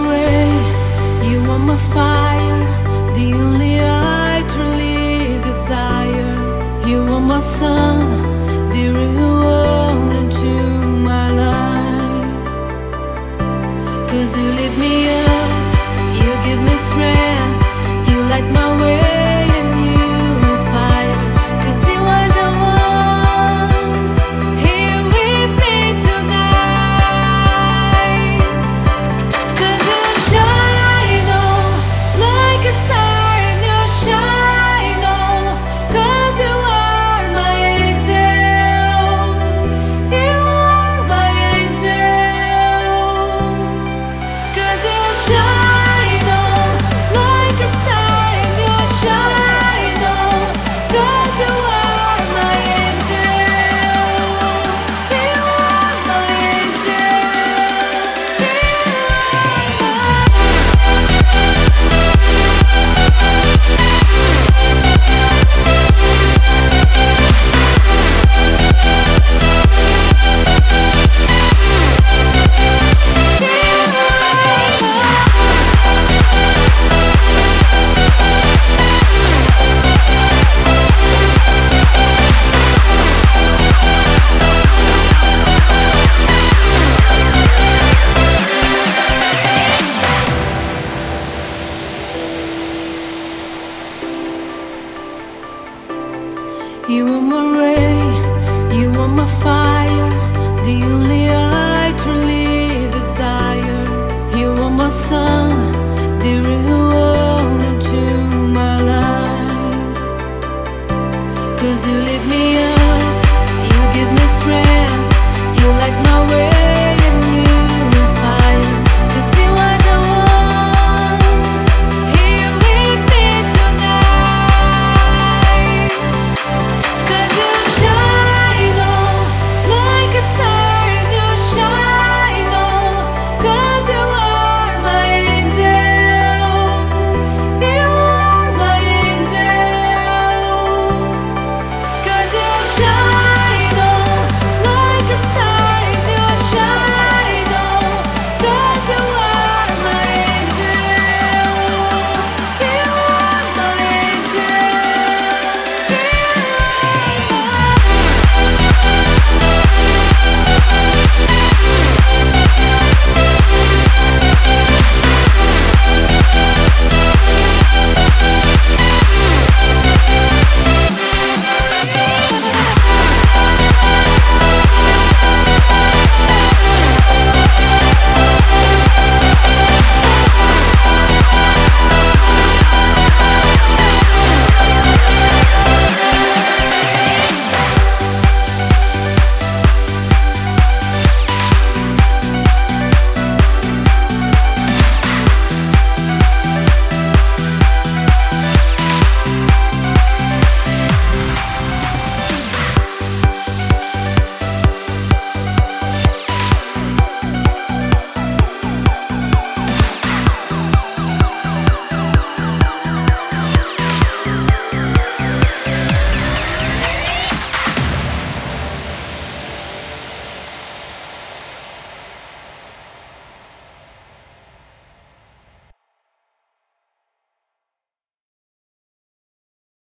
ray, you are my fire, the only I truly desire. You are my sun, the real world into my life. 'Cause you lift me up, you give me strength, you light my way and you inspire. 'Cause you are the one here with me tonight. 'Cause you shine on like a star and you shine on. 'Cause you are my angel, you are my angel. 'Cause you shine on like a star and you shine on. 'Cause you are my angel, you are my angel, you You are my ray, you are my fire, the only I truly desire. You are my sun, the real world into my life. 'Cause you live